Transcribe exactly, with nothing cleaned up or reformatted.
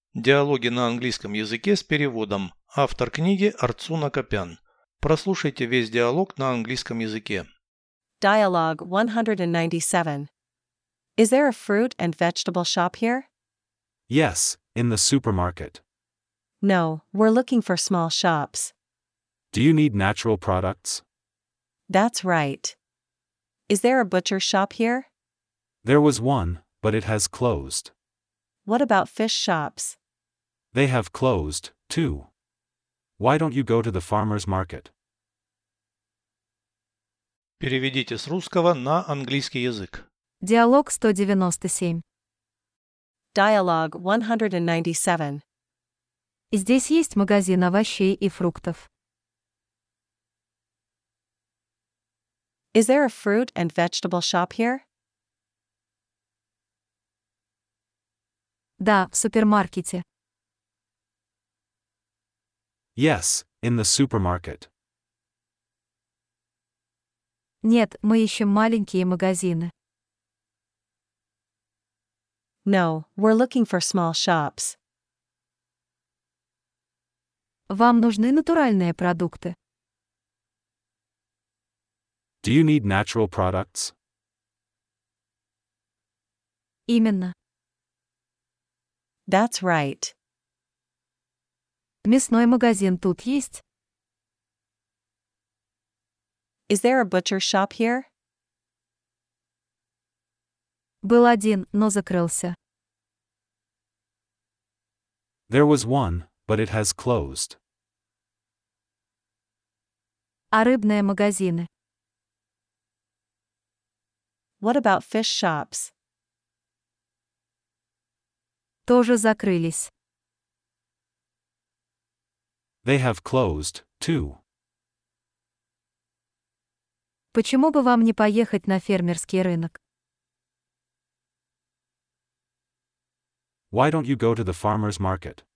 Диалоги на английском языке с переводом. Автор книги Арцуна Копян. Прослушайте весь диалог на английском языке. Dialogue one ninety-seven. Is there a fruit and vegetable shop here? Yes, in the supermarket. No, we're looking for small shops. Do you need natural products? That's right. Is there a butcher shop here? There was one, but it has closed. What about fish shops? They have closed, too. Why don't you go to the farmer's market? Переведите с русского на английский язык. Диалог сто девяносто семь. Dialogue one ninety-seven. Здесь есть магазин овощей и фруктов. Is there a fruit and vegetable shop here? Да, в супермаркете. Yes, in the supermarket. Нет, мы ищем маленькие магазины. No, we're looking for small shops. Вам нужны натуральные продукты. Do you need natural products? Именно. That's right. Мясной магазин тут есть? Is there a butcher shop here? Был один, но закрылся. There was one, but it has closed. А рыбные магазины? What about fish shops? Тоже закрылись. They have closed, too. Почему бы вам не поехать на фермерский рынок? Why don't you go to the farmer's market?